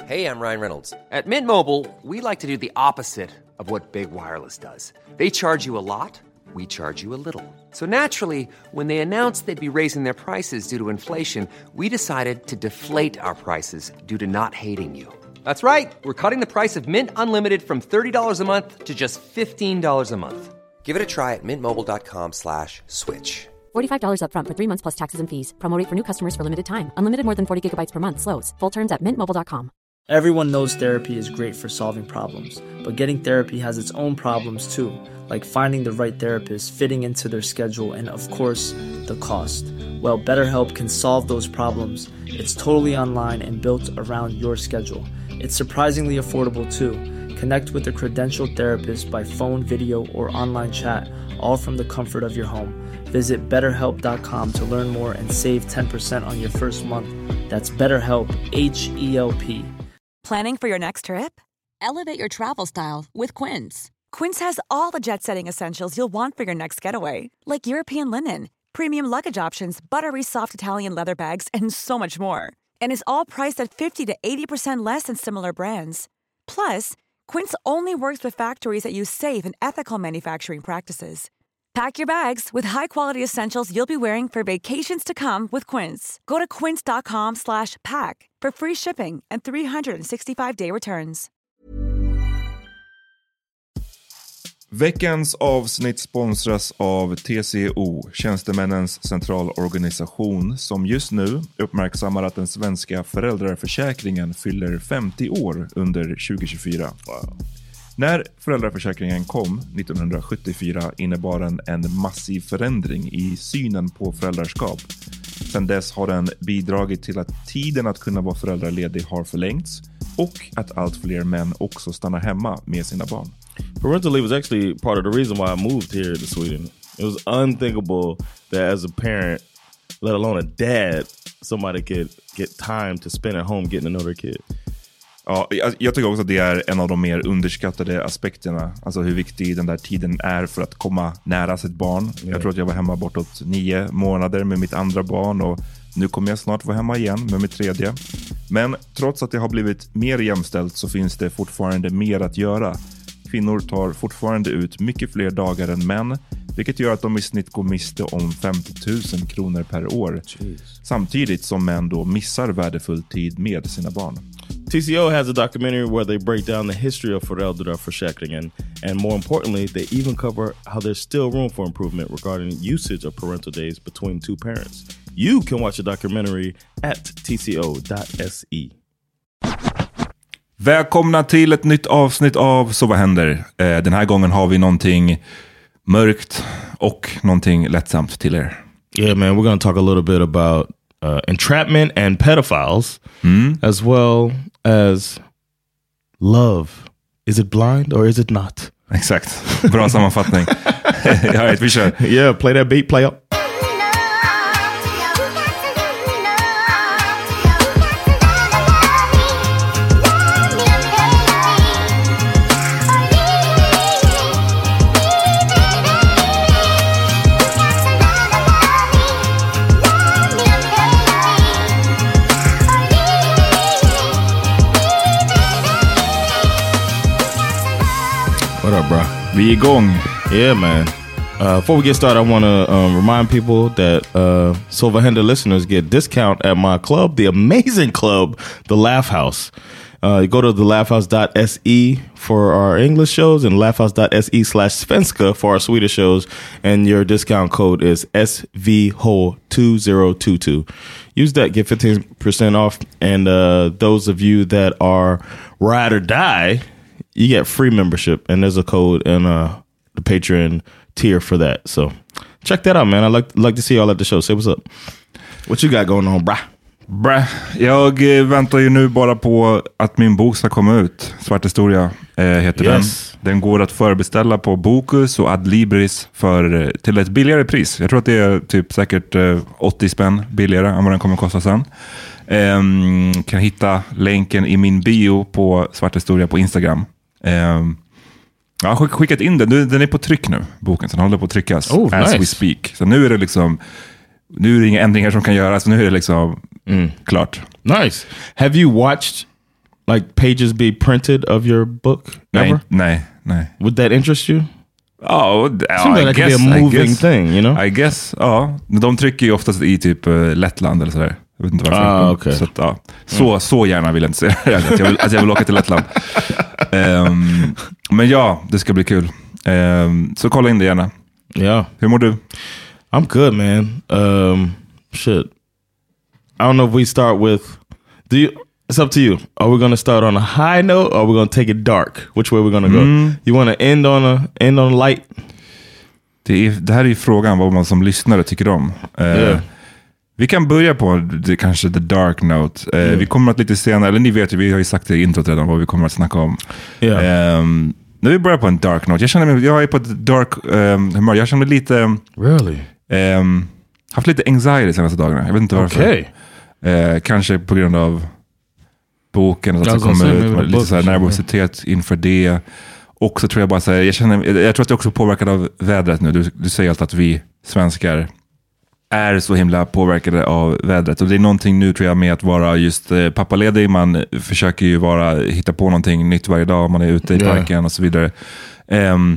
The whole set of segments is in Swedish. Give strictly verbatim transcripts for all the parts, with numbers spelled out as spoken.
Hey, I'm Ryan Reynolds. At Mint Mobile, we like to do the opposite of what Big Wireless does. They charge you a lot, we charge you a little. So naturally, when they announced they'd be raising their prices due to inflation, we decided to deflate our prices due to not hating you. That's right. We're cutting the price of Mint Unlimited from thirty dollars a month to just fifteen dollars a month. Give it a try at mintmobile.com slash switch. forty-five dollars up front for three months plus taxes and fees. Promo rate for new customers for limited time. Unlimited more than forty gigabytes per month slows. Full terms at mint mobile dot com. Everyone knows therapy is great for solving problems, but getting therapy has its own problems too, like finding the right therapist, fitting into their schedule, and of course, the cost. Well, BetterHelp can solve those problems. It's totally online and built around your schedule. It's surprisingly affordable too. Connect with a credentialed therapist by phone, video, or online chat, all from the comfort of your home. Visit better help dot com to learn more and save ten percent on your first month. That's BetterHelp, H E L P. Planning for your next trip? Elevate your travel style with Quince. Quince has all the jet-setting essentials you'll want for your next getaway, like European linen, premium luggage options, buttery soft Italian leather bags, and so much more. And is all priced at fifty to eighty percent less than similar brands. Plus, Quince only works with factories that use safe and ethical manufacturing practices. Pack your bags with high-quality essentials you'll be wearing for vacations to come with Quince. Go to quince.com slash pack for free shipping and three sixty-five day returns. Veckans avsnitt sponsras av T C O, Tjänstemännens centralorganisation, som just nu uppmärksammar att den svenska föräldraförsäkringen fyller femtio år under tjugo tjugofyra. Wow. När föräldraförsäkringen kom nittonhundrasjuttiofyra innebar den en massiv förändring i synen på föräldraskap. Sedan dess har den bidragit till att tiden att kunna vara föräldraledig har förlängts och att allt fler män också stannar hemma med sina barn. Parental leave was actually part of the reason why I moved here to Sweden. It was unthinkable that as a parent, let alone a dad, somebody could get time to spend at home getting to know their kid. Ja, jag, jag tycker också att det är en av de mer underskattade aspekterna. Alltså hur viktig den där tiden är för att komma nära sitt barn. Yeah. Jag tror att jag var hemma bortåt nio månader med mitt andra barn och nu kommer jag snart vara hemma igen med mitt tredje. Men trots att det har blivit mer jämställt så finns det fortfarande mer att göra. Kvinnor tar fortfarande ut mycket fler dagar än män, vilket gör att de i snitt går miste om femtio tusen kronor per år. Jeez. Samtidigt som män då missar värdefull tid med sina barn. T C O has a documentary where they break down the history of föräldraförsäkringen, and more importantly, they even cover how there's still room for improvement regarding usage of parental days between two parents. You can watch the documentary at t c o dot s e. Välkomna till ett nytt avsnitt av Så vad händer? Eh, den här gången har vi någonting mörkt och någonting lättsamt till er. Yeah, man, we're going to talk a little bit about uh, entrapment and pedophiles, mm. as well as love. Is it blind or is it not? Exakt. Bra sammanfattning. All right, vi kör. Yeah, play that beat, play up. What up, bro? Vi är igång. Yeah, man. Uh, before we get started, I want to um, remind people that uh, Så vad händer listeners get discount at my club, the amazing club, The Laugh House. Uh, you go to the laugh house dot s e for our English shows and laugh house dot s e slash svenska for our Swedish shows, and your discount code is S V H O two zero two two. Use that, get fifteen percent off, and uh, those of you that are ride or die, you get free membership, and there's a code in uh, the Patreon tier for that. So check that out, man. I like like to see y'all at the show. Say what's up. What you got going on, brah? Brah. Jag väntar ju nu bara på att min bok ska komma ut. Svart historia eh, heter yes. den. Den går att förbeställa på Bokus och Adlibris för, till ett billigare pris. Jag tror att det är typ säkert eh, åttio spänn billigare än vad den kommer kosta sen. Eh, kan hitta länken i min bio på Svart historia på Instagram. Eh, jag har skickat in den. Den är på tryck nu, boken. Så den håller på att tryckas oh, as nice. we speak. Så nu är det liksom... Nu är det inga ändringar som kan göras. Nu är det liksom mm. klart. Nice. Have you watched like pages be printed of your book? Nej, Ever? nej, nej. Would that interest you? Oh, Seems like that could be a moving guess, thing, you know? I guess, ja. De trycker ju oftast i typ uh, Lettland eller sådär. Jag vet inte varför. Ah, okay. Så, att, ja. så, mm. så gärna vill jag inte säga det. Att jag vill, att jag vill åka till Lettland. um, men ja, det ska bli kul. Um, så kolla in det gärna. Yeah. Hur mår du? I'm good, man. Um, shit. I don't know if we start with... Do you... It's up to you. Are we going to start on a high note or are we going to take it dark? Which way are we going to go? Mm. You want to end on a end on a light? Det, är, det här är ju frågan vad man som lyssnare tycker om. Uh, yeah. Vi kan börja på det, kanske the dark note. Uh, mm. Vi kommer att lite senare, eller ni vet ju, vi har ju sagt det i introt redan vad vi kommer att snacka om. Yeah. Um, när vi börjar på en dark note. Jag känner mig, jag är på ett dark um, humör. Jag känner mig lite... Really? Um, haft lite anxiety de senaste dagarna. Jag vet inte varför. Okay. Uh, kanske på grund av boken att det kommer ut, lite så här nervositet inför det. Och så tror jag bara så här, jag känner, jag tror att det är också påverkad av vädret nu. Du, du säger alltid att vi svenskar är så himla påverkade av vädret. Och det är någonting nu tror jag med att vara just eh, pappaledig. Man försöker ju vara, hitta på någonting nytt varje dag. Man är ute i parken yeah. och så vidare. Um,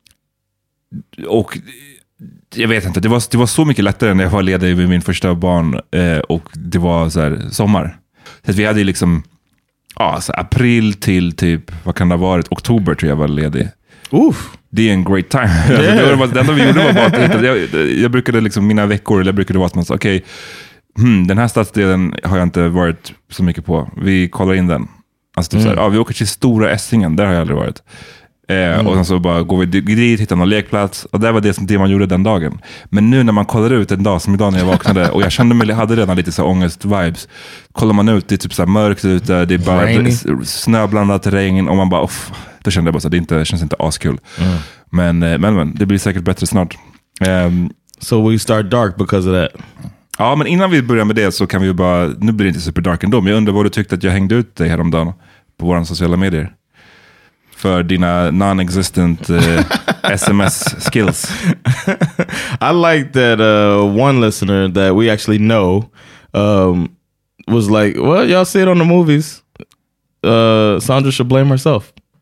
och jag vet inte, det var, det var så mycket lättare när jag var ledig med min första barn. Eh, och det var så här sommar. Så att vi hade liksom ja, så april till typ, vad kan det ha varit? Oktober tror jag var ledig. Uff. Det är en great time. Yeah. Alltså, det, var, det enda vi gjorde var bara att hitta, jag, jag brukade liksom, mina veckor, eller jag brukade vara att man sa, okej, okay, hmm, den här stadsdelen har jag inte varit så mycket på. Vi kollar in den. Alltså typ mm. så här, ja, vi åker till Stora Essingen, där har jag aldrig varit. Eh, mm. Och sen så bara går vi dit, hittar någon lekplats. Och det var det som det man gjorde den dagen. Men nu när man kollar ut en dag, som idag när jag vaknade, och jag kände mig, hade redan lite så ångest-vibes. Kollar man ut, det är typ så här mörkt ute, det är bara Rainy. snöblandat regn, och man bara, off, då kände jag bara så, det inte, känns inte askul. Mm. Men, men, men det blir säkert bättre snart. Um, so we start dark because of that. Ja, men innan vi börjar med det så kan vi ju bara, nu blir det inte super dark ändå, men jag undrar vad du tyckte att jag hängde ut dig häromdagen på våra sociala medier. För dina non-existent uh, S M S skills. I like that uh, one listener that we actually know um, was like, well, y'all see it on the movies. Uh, Sandra should blame herself.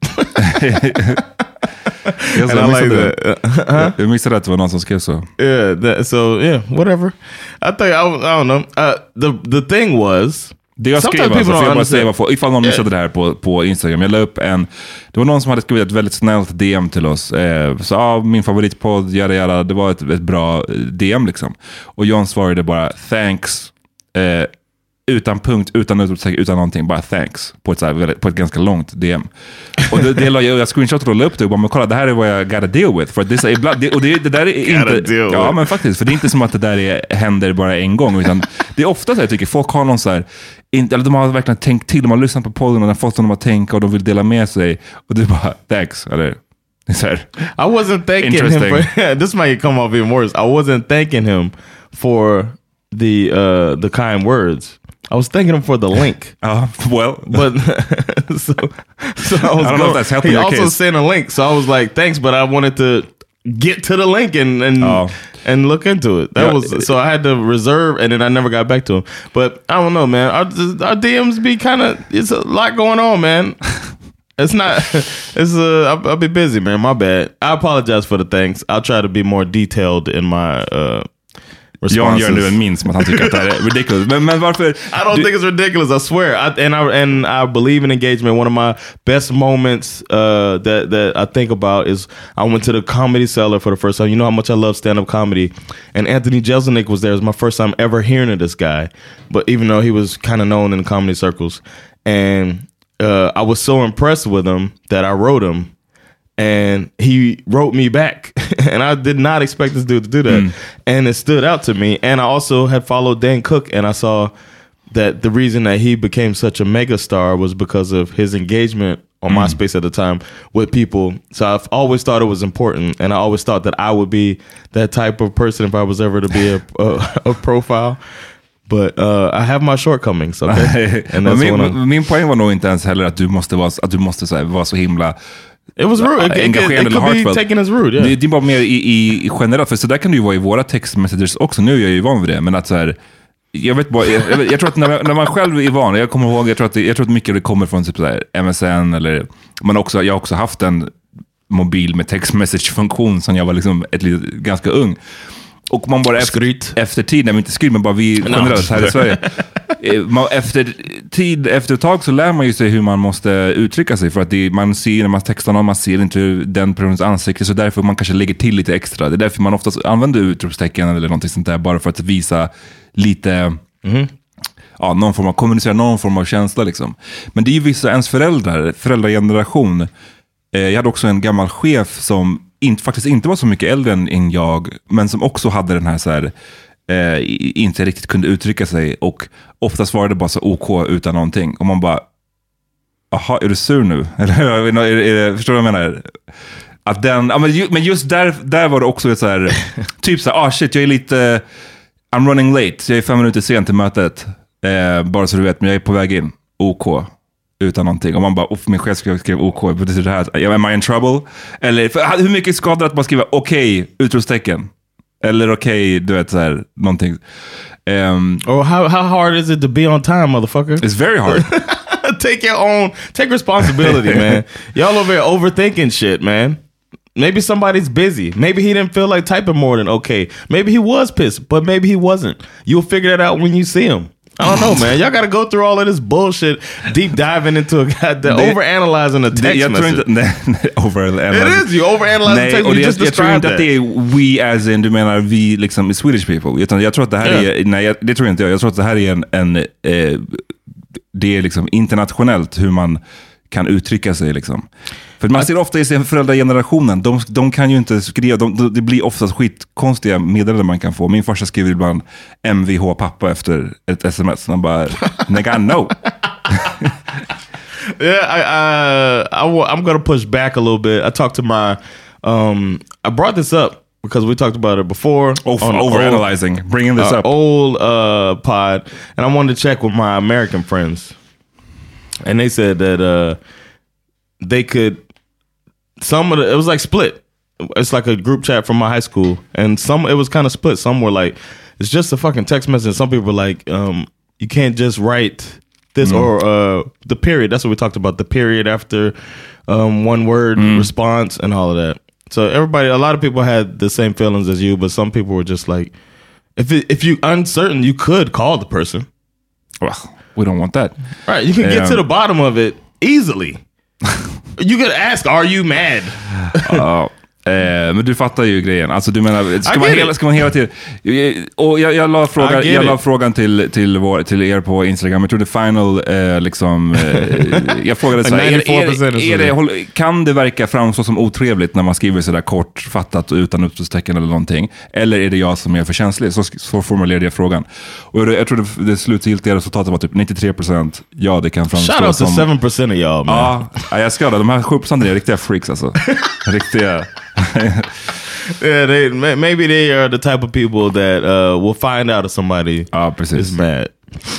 Yes, and I like that. Uh, jag missade att det var någon som skrev så. Yeah, that, so yeah, whatever. I think, I, I don't know. Uh, the, the thing was... Det jag skrev alltså, för jag bara säga varför, ifall någon missade det här på, på Instagram. Jag la upp en, det var någon som hade skrivit ett väldigt snällt D M till oss. Eh, så ja, min favoritpodd, jada jada, det var ett, ett bra D M liksom. Och John svarade bara, thanks, eh, utan punkt, utan utropstecken, utan någonting, bara thanks, på ett, så här, på ett ganska långt D M. Och det, det la jag, jag screenshotade och la upp det och bara, men kolla, det här är vad jag gotta deal with. För det, är ibland, det, och det, det där är inte, ja men faktiskt, för det är inte som att det där är, händer bara en gång, utan det är ofta så jag tycker, folk har någon så här, inte, eller de har verkligen tänkt till, de har lyssnat på podden och de har fått dem att tänka och de vill dela med sig, och det är bara, thanks, eller så här, I wasn't thanking him for, this might come off even worse, I wasn't thanking him for the, uh, the kind words. I was thanking him for the link. Uh, well, but so, so I, was I don't going, know if that's helping he your also case. sent a link, so I was like, thanks, but I wanted to get to the link and and, oh. and look into it. That yeah. was so I had to reserve, and then I never got back to him. But I don't know, man. Our, our D Ms be kind of, it's a lot going on, man. It's not, it's uh, I'll, I'll be busy, man. My bad. I apologize for the thanks. I'll try to be more detailed in my uh John gör nu en min som att han tycker att det här är ridiculous. Men, men varför? I don't du, think it's ridiculous, I swear. I, and, I, and I believe in engagement. One of my best moments uh, that, that I think about is I went to the Comedy Cellar for the first time. You know how much I love stand-up comedy. And Anthony Jeselnik was there. It was my first time ever hearing of this guy. But even though he was kind of known in comedy circles. And uh, I was so impressed with him that I wrote him. And he wrote me back. And I did not expect this dude to do that. Mm. And it stood out to me. And I also had followed Dan Cook, and I saw that the reason that he became such a megastar was because of his engagement on mm. MySpace at the time with people. So I've always thought it was important. And I always thought that I would be that type of person if I was ever to be a, a, a profile. But uh, I have my shortcomings, okay? And that's min, min poäng var nog inte ens heller att du måste vara, att du måste så här, vara så himla... It was rude. It, it, it, it could be taken as rude. Yeah. Det, det är bara mer i, i, i generellt. För så där kan det ju vara i våra text messages också. Nu är jag ju van vid det. Men att så här, jag vet bara, jag, jag tror att när, när man själv är van, jag kommer ihåg, jag tror att, det, jag tror att mycket av det kommer från typ så här M S N eller, men också, jag har också haft en mobil med text message-funktion som jag var liksom ett litet, ganska ung. Och man bara efter, efter tid, nej men inte skryt, men bara vi generellt här i Sverige. Man, efter tid, efter ett tag så lär man ju sig hur man måste uttrycka sig, för att det, man ser när man textar någon, man ser inte den personens ansikte, så därför man kanske lägger till lite extra. Det är därför man oftast använder utropstecken eller någonting sånt där, bara för att visa lite mm. ja, någon form av, kommunicera någon form av känsla liksom. Men det är ju vissa ens föräldrar, föräldrageneration. Eh, jag hade också en gammal chef som inte, faktiskt inte var så mycket äldre än, än jag, men som också hade den här så här eh, inte riktigt kunde uttrycka sig, och oftast var det bara så OK utan någonting, och man bara, aha, är du sur nu? Eller är, är, är, förstår du vad jag menar? Att den, ja, men, ju, men just där, där var det också ett så här typ så här, ah shit, jag är lite I'm running late, jag är fem minuter sen till mötet, eh, bara så du vet, men jag är på väg in, OK utan någonting, och man bara, uff, min chef skrev, skrev OK, betyder det här, am I in trouble? Eller, för, hur mycket skadar att man skriver okej, okay, utropstecken? Eller okej, okay, du vet så här, någonting. Um, or how, how hard is it to be on time, motherfucker? It's very hard. Take your own, take responsibility, man. Y'all over here overthinking shit, man. Maybe somebody's busy. Maybe he didn't feel like typing more than okay. Maybe he was pissed, but maybe he wasn't. You'll figure that out when you see him. I don't know, man. Y'all gotta go through all of this bullshit, deep diving into a goddamn, overanalyzing a text det, jag message. Tror inte, nej, nej, overanalyzing. It is, you overanalyze the text, you just jag, jag tror inte that. att det är we as in, du menar vi liksom Swedish people. Utan jag tror att det här yeah. är, nej jag, det tror inte jag. Jag tror att det här är en, en eh, det är liksom internationellt hur man kan uttrycka sig liksom. För man ser ofta i sin föräldragenerationen, de, de kan ju inte skriva, de, de, det blir oftast skitkonstiga meddelanden man kan få. Min farsa skriver ibland M V H pappa efter ett sms. Han bara, nigga, no. Yeah, I, I, I, I'm gonna push back a little bit. I talked to my, um, I brought this up because we talked about it before. Oh, on overanalyzing, old, bringing this uh, up. Old uh, pod, and I wanted to check with my American friends. And they said that uh, they could, some of the, it was like split. It's like a group chat from my high school. And some, it was kind of split. Some were like, it's just a fucking text message. Some people were like, um, you can't just write this mm. or uh, the period. That's what we talked about. The period after um, one word mm. response and all of that. So everybody, a lot of people had the same feelings as you, but some people were just like, if it, if you uncertain, you could call the person. Well, we don't want that. Right, you can get um, to the bottom of it easily. You could ask, are you mad? uh, eh, men du fattar ju grejen. Alltså du menar, ska, man hela, ska man hela tiden... Och jag, jag la frågan, jag la frågan till, till, vår, till er på Instagram. Jag tror det final eh, liksom... Eh, jag frågade så här, är, är, är det, kan det verka framstå som otrevligt när man skriver sådär kortfattat och utan utropstecken eller någonting? Eller är det jag som är för känslig? Så, så formulerade jag frågan. Och jag, jag tror det, det slutgiltiga resultatet var typ nittiotre procent. Ja, det kan framstå som... Shout out to seven percent of y'all, man. Ja, jag ska det. De här sju procent är riktiga freaks alltså. Riktiga... Yeah, they, maybe they are the type of people that uh, will find out if somebody ah, is mad.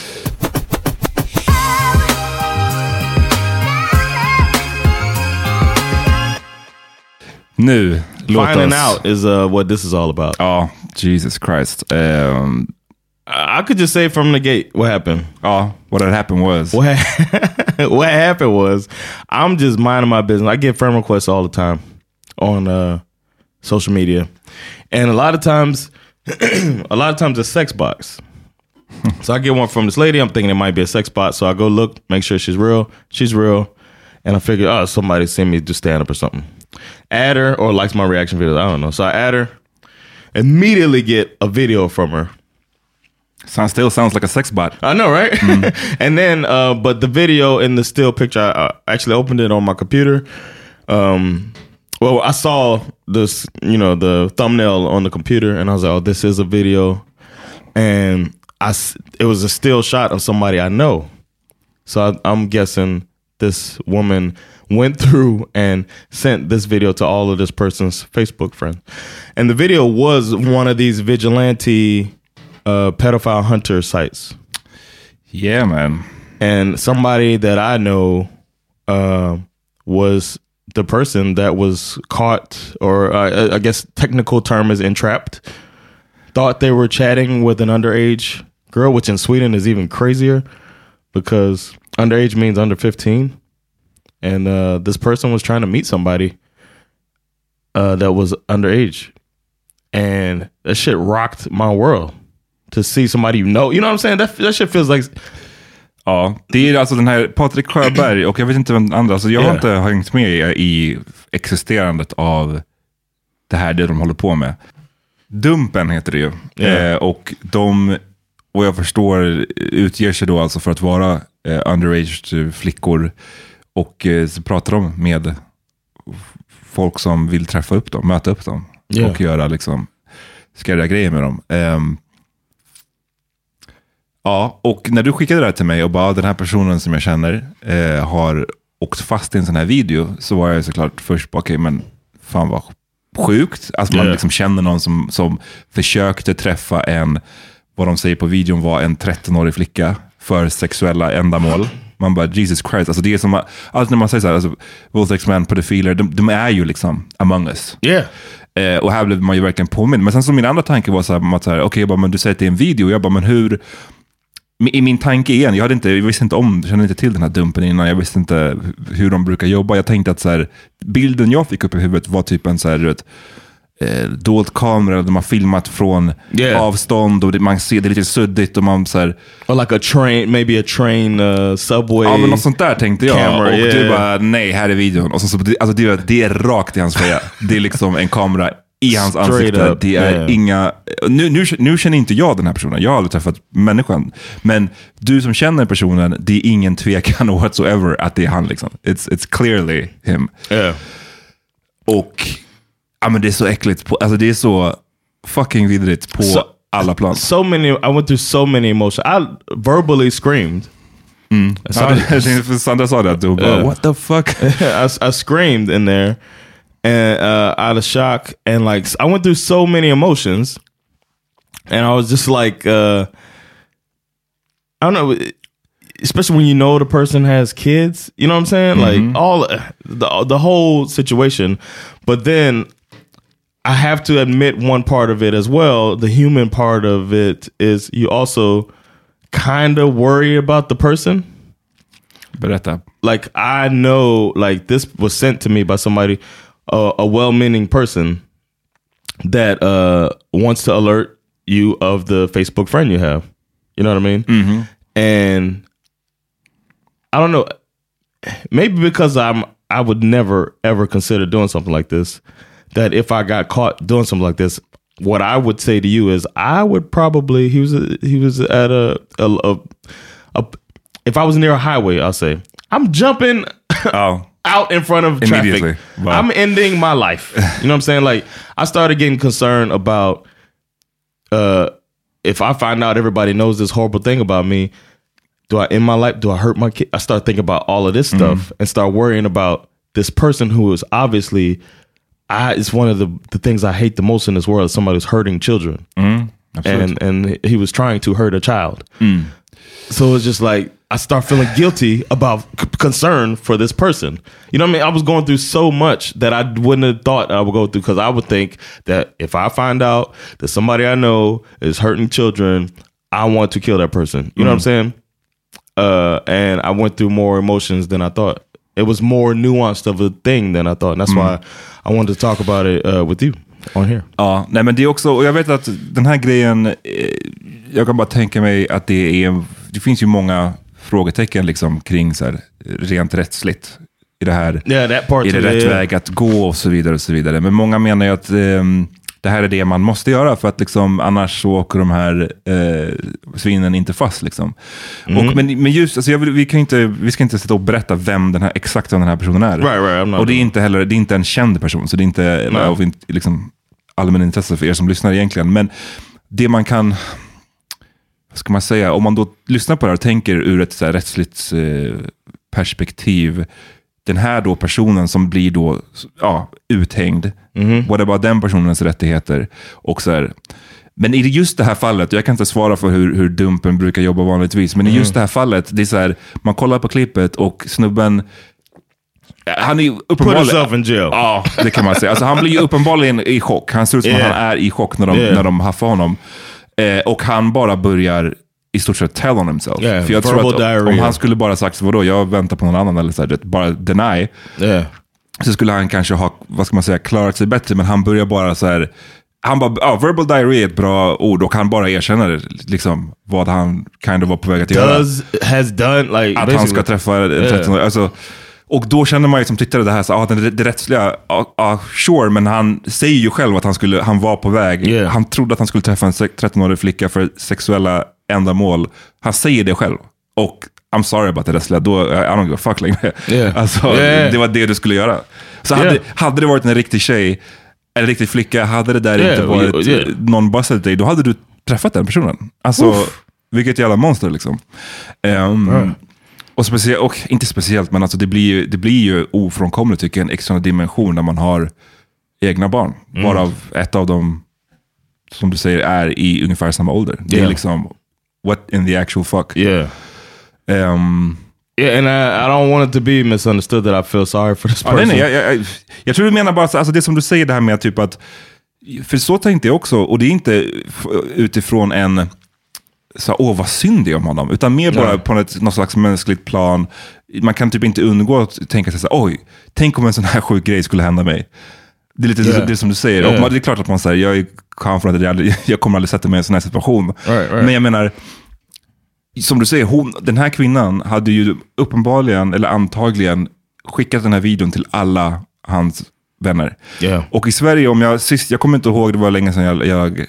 Nu, finding out is uh, what this is all about. Oh, Jesus Christ. Um, I could just say from the gate what happened. Oh, what had happened was... What, ha- what happened was, I'm just minding my business. I get friend requests all the time on uh, social media. And a lot of times, a lot of times it's sex bots. So I get one from this lady. I'm thinking it might be a sex bot. So I go look, make sure she's real. She's real. And I figure, oh, somebody sent me to stand up or something. Add her or likes my reaction videos. I don't know. So I add her. Immediately get a video from her. Sounds still sounds like a sex bot. I know, right? Mm. And then, uh, but the video and the still picture, I, I actually opened it on my computer. Um, well, I saw this, you know, the thumbnail on the computer, and I was like, oh, this is a video. And I, it was a still shot of somebody I know. So I, I'm guessing this woman went through and sent this video to all of this person's Facebook friends. And the video was one of these vigilante uh, pedophile hunter sites. Yeah, man. And somebody that I know uh, was the person that was caught, or uh, I guess technical term is entrapped, thought they were chatting with an underage girl, which in Sweden is even crazier because underage means under fifteen. And uh, this person was trying to meet somebody uh, that was underage. And that shit rocked my world. To see somebody you know. You know what I'm saying? That, that shit feels like... Ja, det är alltså den här Patrik Sjöberg och jag vet inte vem andra, alltså jag har yeah. inte hängt med i existerandet av det här, det de håller på med. Dumpen heter det ju. Yeah. Eh, och de, och jag förstår, utger sig då alltså för att vara eh, underage flickor och eh, så pratar de med folk som vill träffa upp dem, möta upp dem yeah. och göra liksom skrädda grejer med dem. Eh, Ja, och när du skickade det här till mig och bara den här personen som jag känner eh, har åkt fast i en sån här video, så var jag såklart först bara, okej, okay, men fan vad sjukt. Alltså man yeah. liksom känner någon som, som försökte träffa en, vad de säger på videon var en tretton-årig flicka för sexuella ändamål. Man bara, Jesus Christ. Alltså det är som, alltså när man säger så här, alltså, våldtäktsmän, pedofiler, de, de är ju liksom among us. Yeah. Eh, och här blev man ju verkligen påminn. Men sen så min andra tanke var så här, att så här, okej, okay, men du säger att det är en video. Jag bara, men hur... I min tanke igen, jag, hade inte, jag visste inte om, jag kände inte till den här dumpen innan, jag visste inte hur de brukar jobba. Jag tänkte att så här, bilden jag fick upp i huvudet var typ en så här, ett, eh, dold kamera där man har filmat från yeah. avstånd och det, man ser det lite suddigt och man så här... Or like a train, maybe a train, uh, subway. Ja, men något sånt där tänkte jag. Camera, och yeah. du bara, nej, här är videon. Och så, så, alltså, det, det är rakt i hans feja. Det är liksom en kamera i hans Straight ansikte. Up. Det är yeah. inga... Nu, nu, nu känner inte jag den här personen. Jag har aldrig träffat människan. Men du som känner personen, det är ingen tvekan whatsoever att det är han liksom. It's, it's clearly him. Yeah. Och ja, men det är så äckligt. På, alltså det är så fucking vidrigt på so, alla plan. So many, I went through so many emotions. I verbally screamed. Mm. Sandra, Sandra sa det att du bara, uh, what the fuck? I, I screamed in there. And uh, out of shock, and like I went through so many emotions, and I was just like, uh, I don't know, especially when you know the person has kids, you know what I'm saying? Mm-hmm. Like all the the whole situation. But then I have to admit one part of it as well. The human part of it is you also kind of worry about the person. Berätta. Like I know, like this was sent to me by somebody. Uh, a well-meaning person that uh, wants to alert you of the Facebook friend you have. You know what I mean? Mm-hmm. And I don't know, maybe because I'm, I would never ever consider doing something like this, that if I got caught doing something like this, what I would say to you is I would probably, he was, a, he was at a, a, a, a, if I was near a highway, I'll say, I'm jumping. Oh. Out in front of traffic. Wow. I'm ending my life. You know what I'm saying? Like I started getting concerned about uh, if I find out everybody knows this horrible thing about me, do I end my life? Do I hurt my kid? I start thinking about all of this stuff mm. and start worrying about this person who is obviously, I, it's one of the, the things I hate the most in this world, is somebody who's hurting children. Mm. And and he was trying to hurt a child. Mm. So it's just like, I start feeling guilty about c- concern for this person. You know what I mean? I was going through so much that I wouldn't have thought I would go through, because I would think that if I find out that somebody I know is hurting children, I want to kill that person. You know mm. what I'm saying? Uh, and I went through more emotions than I thought. It was more nuanced of a thing than I thought. And that's mm. why I wanted to talk about it uh, with you on here. Ja, nej men det är också, och jag vet att den här grejen, eh, jag kan bara tänka mig att det är, det finns ju många frågetecken liksom kring så här, rent rättsligt i det här, yeah, that part är det rätt väg att gå och så vidare och så vidare. Men många menar ju att um, det här är det man måste göra, för att liksom, annars så åker de här uh, svinen inte fast liksom. Mm. Och, men, men just, alltså jag vill, vi, kan inte, vi ska inte sitta och berätta vem den här, exakt vem den här personen är. Right, right, och det är inte heller, det är inte en känd person, så det är inte no. av liksom, allmän intresse för er som lyssnar egentligen. Men det man kan, ska man säga, om man då lyssnar på det här och tänker ur ett så här rättsligt eh, perspektiv, den här då personen som blir då ja, uthängd, mm-hmm. vad det var den personens rättigheter och så här. Men i just det här fallet, jag kan inte svara för hur, hur Dumpen brukar jobba vanligtvis, men mm. i just det här fallet, det är så här, man kollar på klippet och snubben, han är ju uppenbarligen... Put himself in jail. Ja, det kan man säga. Alltså, han blir ju uppenbarligen i chock. Han ser ut som yeah. att han är i chock när de, yeah. när de haffar honom. Eh, och han bara börjar i stort sett tell on himself. Yeah, för jag tror att diarrhea. om han skulle bara sagt vadå, jag väntar på någon annan eller så här, bara deny. Yeah. Så skulle han kanske ha, vad ska man säga, klarat sig bättre, men han börjar bara så här, han bara, ja, verbal diarrhea är ett bra ord och han bara erkänner liksom vad han kind of var på väg att göra. Does, has done, like, att han ska träffa en tretton-åring. Alltså, och då känner man ju som tittare det här, så, ah, det, det rättsliga, ah, ah, sure, men han säger ju själv att han, skulle, han var på väg. Yeah. Han trodde att han skulle träffa en tretton-årig flicka för sexuella ändamål. Han säger det själv. Och I'm sorry about det rättsliga, då, I don't give a fuck längre. Yeah. Alltså, yeah. det var det du skulle göra. Så yeah. hade, hade det varit en riktig tjej, en riktig flicka, hade det där yeah. inte varit yeah. någon busted dig, då hade du träffat den personen. Alltså, Oof. vilket jävla monster liksom. Um, right. Och, speciellt, och inte speciellt, men alltså det blir, det blir ju ofrånkomligt tycker jag, en extra dimension när man har egna barn. Mm. Varav ett av dem, som du säger, är i ungefär samma ålder. Det yeah. är liksom, what in the actual fuck? Yeah. Um, yeah, and I, I don't want it to be misunderstood that I feel sorry for this person. Ja, nej, nej, jag, jag, jag tror du menar bara, alltså det som du säger det här med typ att, för så tänkte jag också, och det är inte utifrån en så åh vad synd det är om honom, utan mer bara ja. på ett, något slags mänskligt plan. Man kan typ inte undgå att tänka sig så oj, tänk om en sån här sjuk grej skulle hända mig. Det är lite yeah. det som du säger. Yeah. Och man, det är klart att man säger, jag är confident, jag, jag kommer aldrig sätta mig i en sån här situation. Right, right. Men jag menar, som du säger, hon, den här kvinnan hade ju uppenbarligen, eller antagligen, skickat den här videon till alla hans vänner. Yeah. Och i Sverige, om jag sist, jag kommer inte ihåg, det var länge sedan jag, jag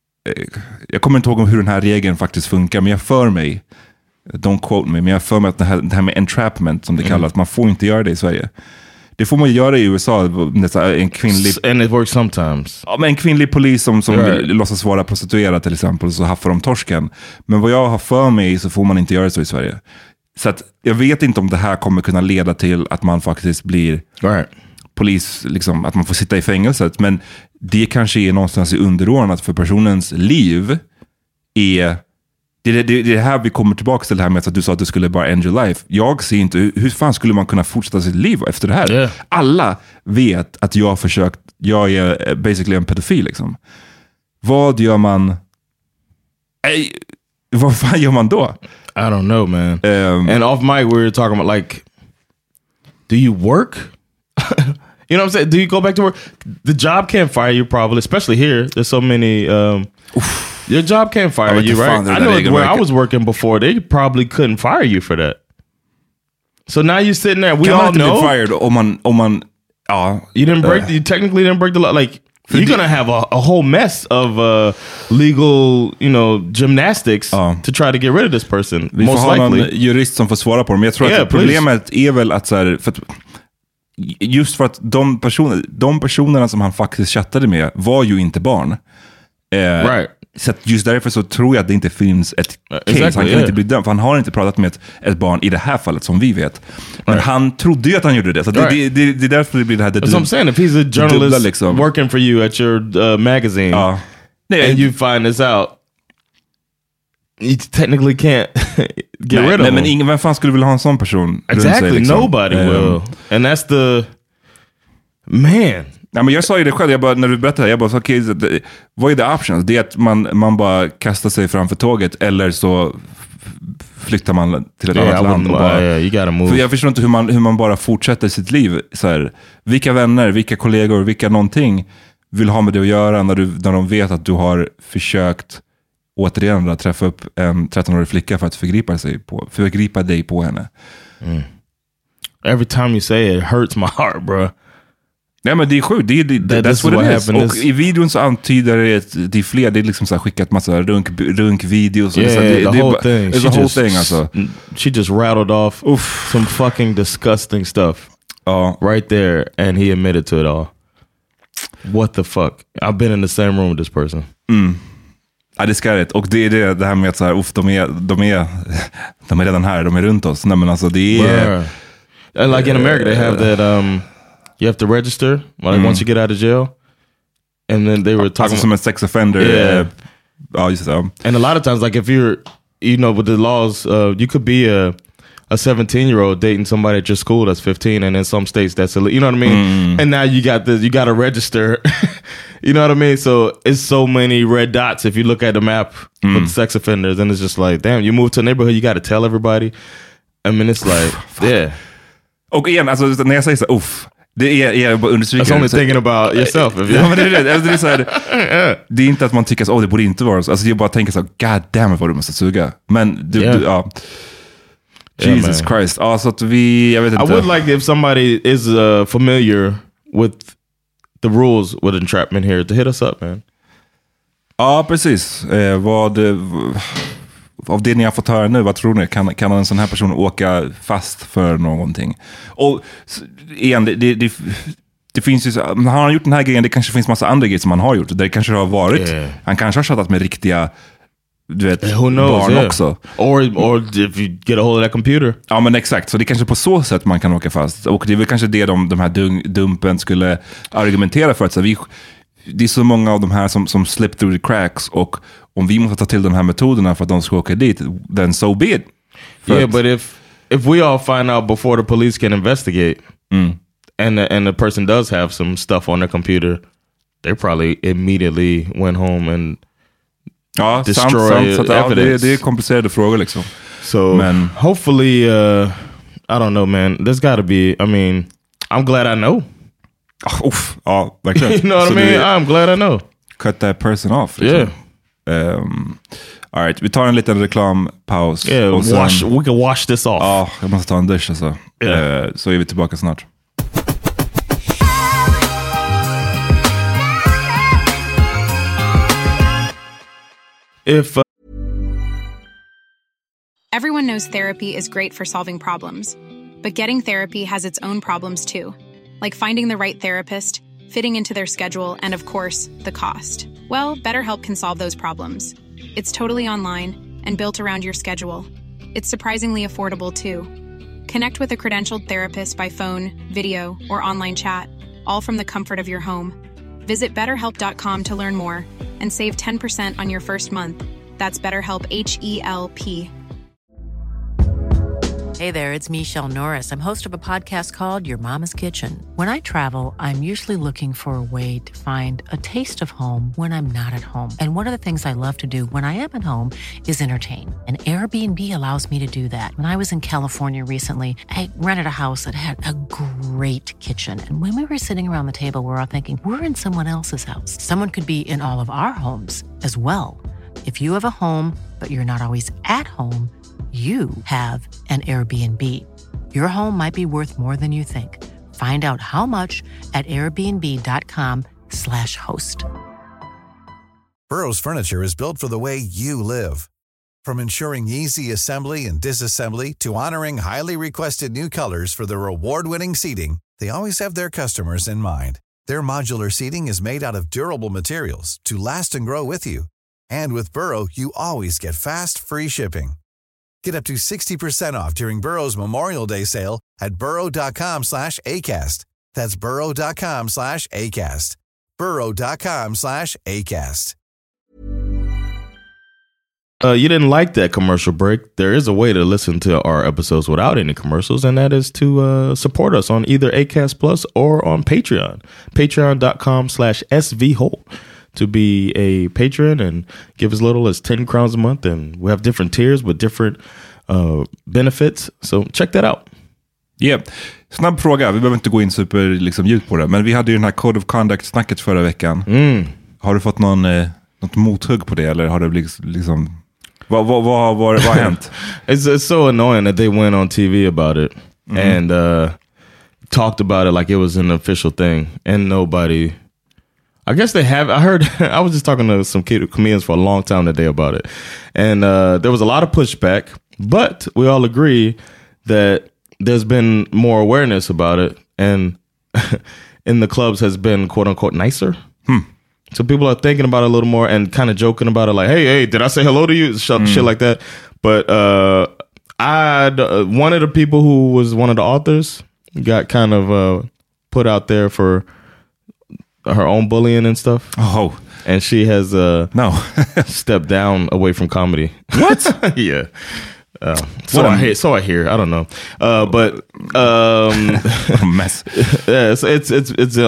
jag kommer inte ihåg hur den här regeln faktiskt funkar, men jag för mig, don't quote me, men jag för mig att det här, det här med entrapment som det mm. kallas, man får inte göra det i Sverige. Det får man göra i U S A, en kvinnlig... And it works sometimes. Ja, men en kvinnlig polis som, som right. låtsas vara prostituerad till exempel, så haffar de torsken. Men vad jag har för mig så får man inte göra så i Sverige. Så att jag vet inte om det här kommer kunna leda till att man faktiskt blir right. polis, liksom, att man får sitta i fängelset. Men det kanske är någonstans i underordnat för personens liv. Är det, det, det, det här vi kommer tillbaka till det här med att du sa att du skulle bara end your life. Jag ser inte, hur, hur fan skulle man kunna fortsätta sitt liv efter det här? Yeah. Alla vet att jag har försökt, jag är basically en pedofil liksom. Vad gör man? Ej, vad fan gör man då? I don't know, man. Um, And off mic we were talking about like, do you work? You know what I'm saying? Do you go back to work? The job can't fire you probably, especially here. There's so many... Um, your job can't fire you, right? I know where I was working before, they probably couldn't fire you for that. So now you're sitting there, we kan all man inte know... bli fired om man... Om man ja, you didn't break... Uh, you technically didn't break the law. Like, you're going to have a, a whole mess of uh, legal, you know, gymnastics uh, to try to get rid of this person. Vi most får ha likely. någon jurist som får svara på det. Men jag tror yeah, att problemet är väl att så här... För att, just för att de, personer, de personerna som han faktiskt chattade med var ju inte barn. Eh, right. Så att just därför så tror jag att det inte finns ett case. Exactly, han kan yeah. inte bli dömd, för han har inte pratat med ett, ett barn i det här fallet som vi vet. Men right. han trodde ju att han gjorde det. Så right. det, det, det är därför det blir det här. Det, That's what I'm saying. If he's a journalist dubbla, liksom. working for you at your uh, magazine uh, nej, and you find this out, you technically can't get nej, rid of nej, him. men ingen, vem fan skulle vilja ha en sån person? Exactly, sig, liksom. nobody um, will. And that's the... Man. Nej, men jag sa ju det själv, jag bara, när du berättade, jag bara, okej, okay, vad är the options? Det är att man, man bara kastar sig framför tåget, eller så flyttar man till ett yeah, annat land. Och bara, yeah, you gotta move. För jag förstår inte hur man, hur man bara fortsätter sitt liv. Så här, vilka vänner, vilka kollegor, vilka någonting vill ha med det att göra när, du, när de vet att du har försökt återigen då, träffa upp en tretton-årig flicka för att förgripa, sig på, förgripa dig på henne. Mm. Every time you say it, it hurts my heart, bro. Nej, men det är sjukt. Det, det, That that's what, what it is. Och is... i videon så antyder det att det är fler. Det är liksom så här skickat massa runk, runkvideos. Yeah, så det, the det, whole det, thing. It's She a whole just, thing alltså. She just rattled off Oof. some fucking disgusting stuff. Ja. Right there. And he admitted to it all. What the fuck? I've been in the same room with this person. Mm. Ja, det är skarrigt. Och det är det, det här med att så här, uff, de, är, de, är, de är redan här. De är runt oss. Nej, men alltså det är... And like in America they have that... Um, you have to register like mm. once you get out of jail. And then they were talking alltså som en sex offender. Yeah. Ja, just det. And a lot of times, like if you're, you know, with the laws, uh, you could be a a seventeen year old dating somebody at your school that's fifteen, and in some states that's illegal. You know what I mean? Mm. And now you got this, you got to register, You know what I mean? So it's so many red dots if you look at the map mm. with sex offenders, and it's just like, damn, you move to a neighborhood, you got to tell everybody. I mean, it's like, yeah. Och igen, alltså när jag säger så, uff, det är, jag bara understryker. That's only thinking about yourself. If ja, men det, är, det, är så här, det är inte att man tycker att oh, det borde inte vara så. Alltså jag bara tänker så, god damn it vad du måste suga. Men du, yeah. du ja. Jesus yeah, Christ. Ja, så att vi, jag vet inte. I would like if somebody is uh, familiar with the rules with entrapment here to hit us up, man. Ja, precis. Eh, vad... Av det ni har fått höra nu, vad tror ni? Kan, kan en sån här person åka fast för någonting? Och igen, det, det, det, det finns ju... Har han gjort den här grejen, det kanske finns massa andra grejer som han har gjort. Det kanske har varit... Yeah. Han kanske har chattat med riktiga... Du vet, yeah, who knows, barn yeah. också. Or, or if you get a hold of that computer. Ja, men exakt. Så det är kanske på så sätt man kan åka fast. Och det är väl kanske det de, de här dun, dumpen skulle argumentera för. Att så vi, det är så många av de här som, som slip through the cracks. Och om vi måste ta till de här metoderna för att de ska åka dit, then so be it. För yeah, but if, if we all find out before the police can investigate mm. and, the, and the person does have some stuff on their computer, they probably immediately went home and ja, destroy sant, sant, evidence. Ja, det, det är komplicerade frågor liksom. So men, hopefully, uh, I don't know, man. There's got to be, I mean, I'm glad I know. Oh, uff, ja, verkligen. You know what so I mean? Det, I'm glad I know. Cut that person off. Liksom. Yeah. Um, all right, vi tar en liten reklampaus. Yeah, och sen, wash, we can wash this off. Ja, oh, jag måste ta en dusch alltså. Yeah. Uh, så är vi tillbaka snart. If uh... Everyone knows therapy is great for solving problems, but getting therapy has its own problems too, like finding the right therapist, fitting into their schedule, and of course, the cost. Well, BetterHelp can solve those problems. It's totally online and built around your schedule. It's surprisingly affordable too. Connect with a credentialed therapist by phone, video, or online chat, all from the comfort of your home. Visit better help dot com to learn more and save ten percent on your first month. That's BetterHelp, H E L P. Hey there, it's Michelle Norris. I'm host of a podcast called Your Mama's Kitchen. When I travel, I'm usually looking for a way to find a taste of home when I'm not at home. And one of the things I love to do when I am at home is entertain. And Airbnb allows me to do that. When I was in California recently, I rented a house that had a great kitchen. And when we were sitting around the table, we were all thinking, we're in someone else's house. Someone could be in all of our homes as well. If you have a home, but you're not always at home, you have an Airbnb. Your home might be worth more than you think. Find out how much at airbnb dot com slash host. Burrow's furniture is built for the way you live. From ensuring easy assembly and disassembly to honoring highly requested new colors for their award-winning seating, they always have their customers in mind. Their modular seating is made out of durable materials to last and grow with you. And with Burrow, you always get fast, free shipping. Get up to sixty percent off during Burrow's Memorial Day sale at burrow dot com slash ACAST. That's burrow dot com slash ACAST. burrow dot com slash ACAST. Uh, you didn't like that commercial break. There is a way to listen to our episodes without any commercials, and that is to uh, support us on either Acast Plus or on Patreon. Patreon dot com slash S V Holt. To be a patron and give as little as ten crowns a month, and we have different tiers with different uh, benefits, so check that out. Yeah. Snabb fråga, vi behöver inte gå in super liksom, djupt på det, men vi hade ju den här Code of Conduct-snacket förra veckan. Mm. Har du fått någon, eh, något mothugg på det, eller har det blivit liksom vad, vad, vad, vad, vad har hänt? it's, it's so annoying that they went on T V about it mm-hmm. and uh, talked about it like it was an official thing, and nobody... I guess they have. I heard, I was just talking to some comedians for a long time today about it. And uh, there was a lot of pushback, but we all agree that there's been more awareness about it. And in the clubs has been quote unquote nicer. Hmm. So people are thinking about it a little more and kind of joking about it. Like, hey, hey, did I say hello to you? Shit, mm. shit like that. But uh, I, one of the people who was one of the authors got kind of uh, put out there for her own bullying and stuff. Oh, and she has uh no stepped down away from comedy. What? Yeah. Uh, so I hear. So I hear. I don't know. Uh, but um, what a mess. Yeah, it's it's it's it's all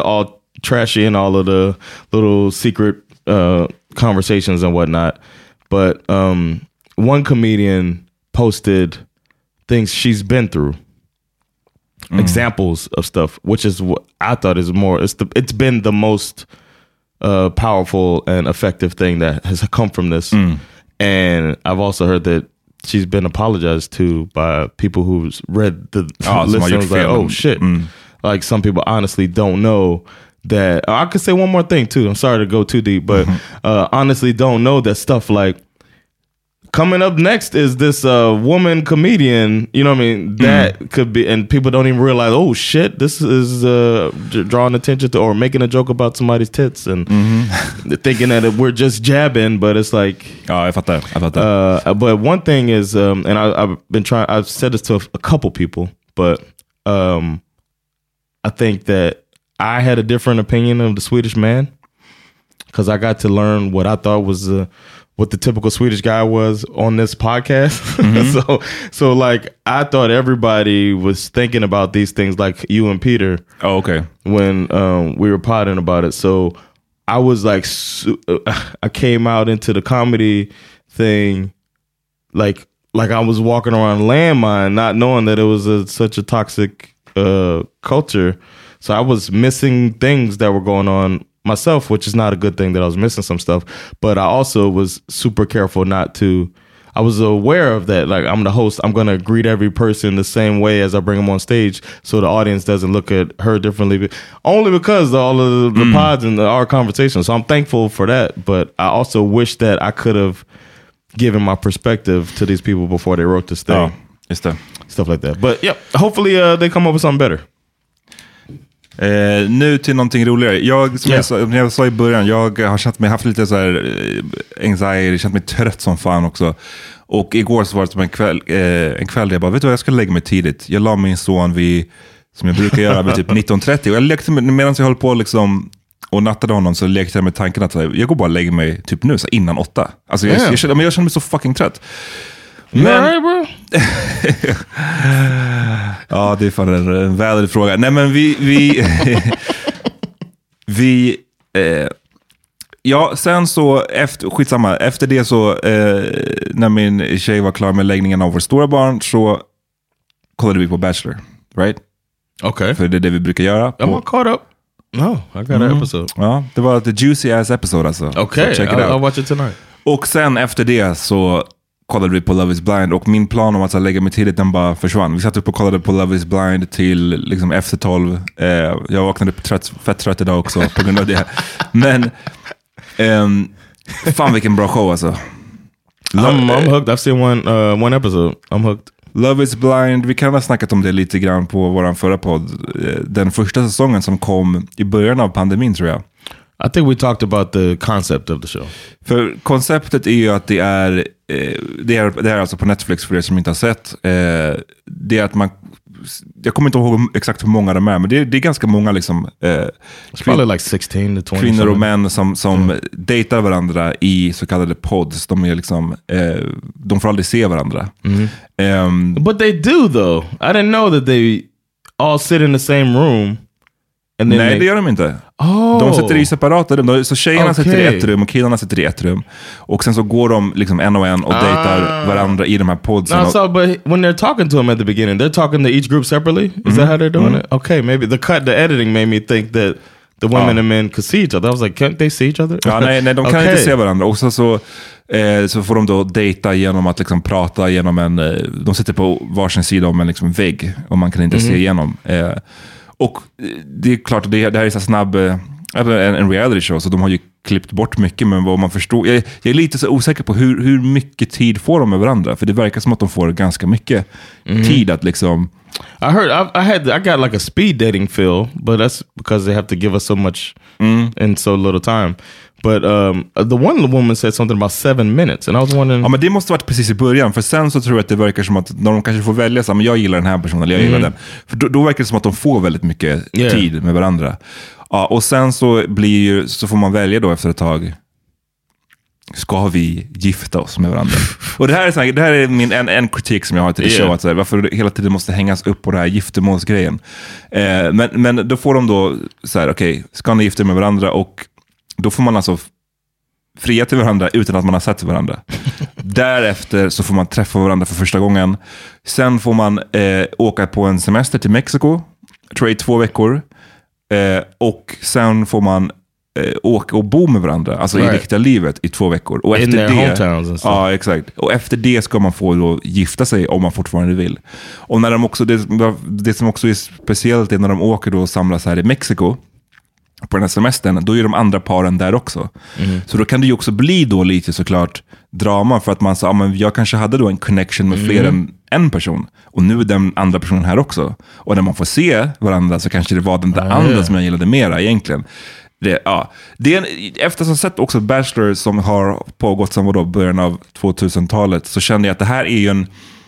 trashy in all of the little secret uh, conversations and whatnot. But um, one comedian posted things she's been through, mm. examples of stuff, which is what I thought is more. It's the. It's been the most uh, powerful and effective thing that has come from this. Mm. And I've also heard that she's been apologized to by people who's read the oh, list and was like, oh shit. Mm. Like some people honestly don't know that. I could say one more thing too. I'm sorry to go too deep, but mm-hmm. uh, honestly don't know that stuff like coming up next is this uh, woman comedian, you know what I mean? That mm. could be, and people don't even realize, oh shit, this is uh, drawing attention to, or making a joke about somebody's tits and mm-hmm. thinking that we're just jabbing, but it's like... Ja, jag fattar. Jag fattar. Uh, but one thing is, um, and I, I've been trying, I've said this to a, a couple people, but um, I think that I had a different opinion of the Swedish Man because I got to learn what I thought was... Uh, what the typical Swedish guy was on this podcast. Mm-hmm. so, so like, I thought everybody was thinking about these things like you and Peter. Oh, okay. When um, we were potting about it. So I was like, su- I came out into the comedy thing like, like I was walking around landmine, not knowing that it was a, such a toxic uh, culture. So I was missing things that were going on myself, which is not a good thing that I was missing some stuff, but I also was super careful not to, I was aware of that. Like, I'm the host, I'm going to greet every person the same way as I bring them on stage so the audience doesn't look at her differently, only because of all of the, the mm. pods and the, our conversations. So I'm thankful for that, but I also wish that I could have given my perspective to these people before they wrote this thing. Oh, just det. Stuff like that. But yeah, hopefully uh, they come up with something better. Eh, nu till någonting roligare. Jag, som yeah. jag, sa, jag sa i början, jag har känt mig, haft lite så här anxiety, känt mig trött som fan också. Och igår så var det som en kväll, eh, en kväll där jag bara, vet du vad, jag ska lägga mig tidigt. Jag la min son vid, som jag brukar göra, vid typ nitton trettio. Och jag lekte med, medan jag höll på liksom och nattade honom, så lekte jag med tanken att jag går bara och lägger mig typ nu, så innan åtta. Alltså jag, yeah. jag, jag, jag, jag känner mig så fucking trött. Men... right, bro? Ja, det är fan en, en väldigt fråga. Nej, men vi... Vi... vi eh, ja, sen så... Efter, skitsamma. Efter det så... Eh, när min tjej var klar med läggningen av vår stora barn, så kollade vi på Bachelor. Right? Okay. För det är det vi brukar göra. Am I caught up? No, I got mm. an episode. Ja, det var the juicy ass episode alltså. Okay, so check it I'll, out. I'll watch it tonight. Och sen efter det så... kollade vi på Love is Blind, och min plan om att lägga mig tidigt, den bara försvann. Vi satt upp och kollade på Love is Blind till liksom efter tolv. Eh, jag vaknade upp trött, fett trött idag också på grund av det. Men um, fan vilken bra show alltså. Lo- I'm, I'm hooked. I've seen one, uh, one episode. I'm hooked. Love is Blind, vi kan ha snackat om det lite grann på våran förra podd. Den första säsongen som kom i början av pandemin, tror jag. I think we talked about the concept of the show. För konceptet är ju att det är, eh, det är, det är alltså på Netflix för er som inte har sett. Eh, det är att man, jag kommer inte ihåg exakt hur många de är, men det är, det är ganska många liksom, eh, kvin- like sixteen to twenty kvinnor och män som, som mm. dejtar varandra i så kallade pods. De är liksom, eh, de får aldrig se varandra. Mm. Um, But they do though. I didn't know that they all sit in the same room. Nej, they... det gör de inte. Oh. De sitter i separata rum. Så tjejerna okay. sitter i ett rum och killarna sitter i ett rum. Och sen så går de liksom en och en och ah. dejtar varandra i de här podsen. No, so, but when they're talking to them at the beginning, they're talking to each group separately? Is mm-hmm. that how they're doing mm-hmm. it? Okay, maybe the cut, the editing made me think that the women ah. and men could see each other. I was like, can't they see each other? Ja, nej, nej, de kan okay. inte se varandra. Och så, så, eh, så får de då dejta genom att liksom prata genom en... Eh, de sitter på varsin sida om en liksom vägg och man kan inte mm-hmm. se igenom. Eh, Och det är klart, det, det här är så snabb en, en reality show, så de har ju klippt bort mycket, men vad man förstår, jag, jag är lite så osäker på hur, hur mycket tid får de med varandra, för det verkar som att de får ganska mycket mm. tid att liksom... I heard, I, I had, I got like a speed dating feel, but that's because they have to give us so much mm. in so little time. But um, the one woman said something about seven minutes, and I was wondering... Ja, men det måste varit precis i början, för sen så tror jag att det verkar som att när de kanske får välja så, men jag gillar den här personen, eller jag gillar mm. den. För då, då verkar det som att de får väldigt mycket yeah. tid med varandra. Ja, och sen så blir så får man välja då efter ett tag ska vi gifta oss med varandra? Och det här är, så här, det här är min, en, en kritik som jag har till det yeah. show, att så här, varför hela tiden måste hängas upp på det här giftermålsgrejen. Eh, men, men då får de då så här, okej, okay, ska ni gifta med varandra? Och då får man alltså fria till varandra utan att man har sett varandra. Därefter så får man träffa varandra för första gången. Sen får man eh, åka på en semester till Mexiko, tror jag i två veckor. Eh, och sen får man eh, åka och bo med varandra, alltså right. i riktiga livet i två veckor. Och in efter their det, hometowns and stuff. Ja, exakt. Och efter det ska man få då gifta sig om man fortfarande vill. Och när de också, det, det som också är speciellt är när de åker då och samlas här i Mexiko på den här semestern, då är de andra paren där också. Mm. Så då kan det ju också bli då lite såklart drama, för att man sa, ah, men jag kanske hade då en connection med fler mm. än en person. Och nu är den andra personen här också. Och när man får se varandra så kanske det var den där mm. andra som jag gillade mera egentligen. Det, ja. det är en, efter att ha sett också Bachelor som har pågått sedan då, början av tvåtusentalet, så kände jag att det här är ju en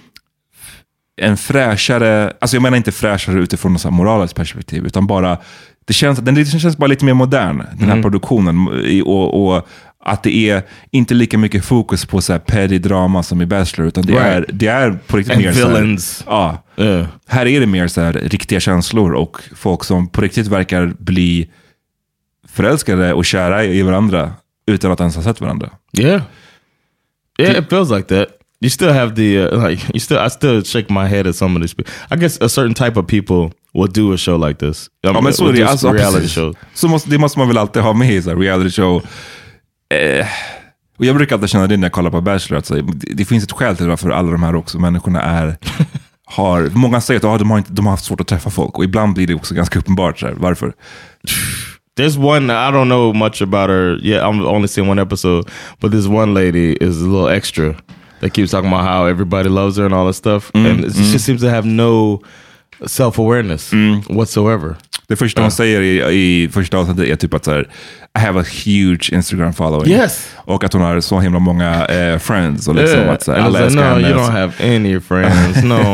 en fräschare, alltså jag menar inte fräschare utifrån något moraliskt perspektiv, utan bara det känns, den, det känns bara lite mer modern, den här mm. produktionen, och, och att det är inte lika mycket fokus på så här petty drama som i Bachelor, utan det, right. är, det är på riktigt And mer villains. Så här, ja, uh. här är det mer så här riktiga känslor och folk som på riktigt verkar bli förälskade och kära i varandra utan att ens ha sett varandra. Yeah. Yeah, it feels like that. You still have the uh, like you still I still shake my head at some of these people. I guess a certain type of people will do a show like this. I mean, ja, men så är det, alltså, reality show. Så måste, det måste man väl alltid ha med i så här reality show. Eh, och jag brukar alltid känna det när jag kollar på Bachelor, att så, det, det finns ett skäl till varför alla de här också människorna är har, många säger att ah, de, har inte, de har haft svårt att träffa folk, och ibland blir det också ganska uppenbart så här, varför. There's one, I don't know much about her. Yeah, I'm only seen one episode, but this one lady is a little extra. They keep talking about how everybody loves her and all that stuff. Mm, and it mm. just seems to have no self-awareness mm. whatsoever. Det första hon uh. säger i, i första avsnittet är typ att så här, I have a huge Instagram following. Yes. Och att hon har så himla många eh, friends. Och liksom yeah. att så här, alla like, no, hennes. You don't have any friends. No.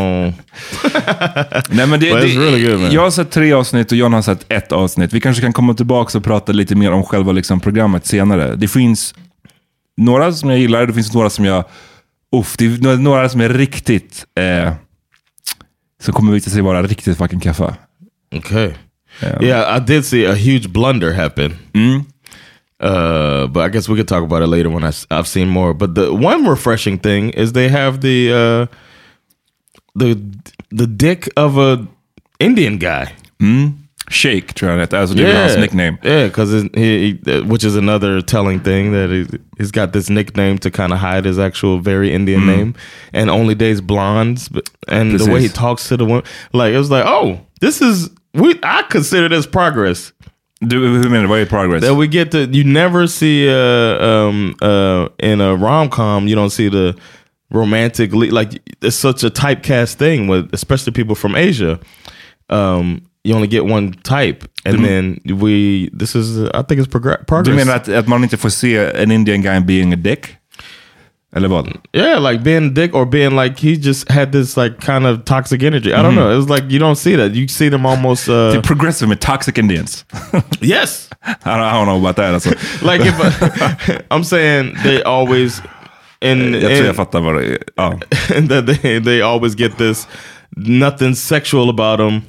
Nej, men det, But it's really good, man. Jag har sett tre avsnitt och John har sett ett avsnitt. Vi kanske kan komma tillbaka och prata lite mer om själva liksom, programmet senare. Det finns några som jag gillar. Det finns några som jag Uff, det är några som är riktigt eh, som kommer visa sig vara riktigt fucking kaffa. Okay. Yeah. yeah, I did see a huge blunder happen. Mm. Uh, but I guess we could talk about it later when I, I've seen more. But the one refreshing thing is they have the uh, the the dick of a Indian guy. Mm. Shake, tror jag that's yeah. his nickname. Yeah, because he, he, which is another telling thing that he, he's got this nickname to kind of hide his actual very Indian mm. name, and only dates blondes. But, and this the way is. he talks to the woman, like it was like, oh, this is we. I consider this progress. Do who mean what progress? That we get to. You never see uh, um uh in a rom-com. You don't see the romantic le- like it's such a typecast thing with especially people from Asia. Um. You only get one type, and du, then we. This is, I think, it's progr- progress. Du menar att, att man inte får se an Indian guy being a dick? Eller vad? Yeah, like being a dick or being like he just had this like kind of toxic energy. I don't mm-hmm. know. It's like you don't see that. You see them almost. Uh, the progressive with toxic Indians. Yes. I don't, I don't know about that. Also. Like if uh, I'm saying they always. In, jag tror jag fattar vad det är. Ja. That they they always get this nothing sexual about them.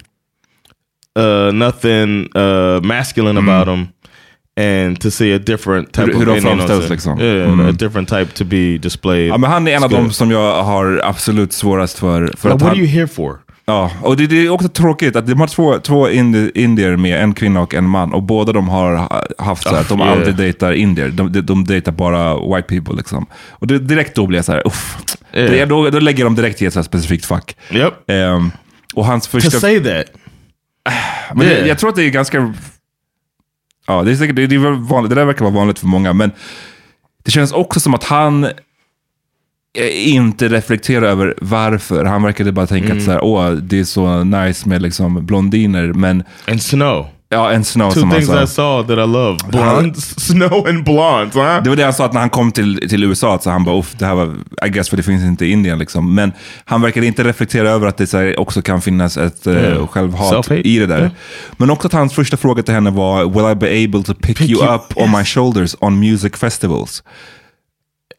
Uh, nothing uh, masculine mm. about them, and to see a different type hur, of hur framställs liksom. Yeah, mm. a different type to be displayed. Ja, men han är en av dem som jag har absolut svårast för. för well, att what han, are you here for? Ja, och det, det är också tråkigt att de har två, två indi, indier med, en kvinna och en man, och båda de har haft så här, att de yeah. aldrig dejtar indier, de, de, de dejtar bara white people liksom. Och det, direkt då blir jag så här, uff. Yeah. Det, då, då lägger de direkt i ett så här specifikt fack. Yep. Um, och hans första... To say that. Men yeah. det, jag tror att det är ganska... Ja, det är säkert, det, det, är vanligt, det där verkar vara vanligt för många, men det känns också som att han inte reflekterar över varför. Han verkade bara tänka mm. att så här, åh, det är så nice med liksom blondiner, men... And snow. Ja, en snow Two som things han sa. I saw that I love. Blondes, snow and blondes. Huh? Det var det han sa, att när han kom till, till U S A så han bara, uff, det här var, I guess, för det finns inte i Indien liksom. Men han verkar inte reflektera över att det så här, också kan finnas ett yeah. uh, självhat Self-hate. i det där. Yeah. Men också att hans första fråga till henne var, will I be able to pick, pick you, you up yes. on my shoulders on music festivals?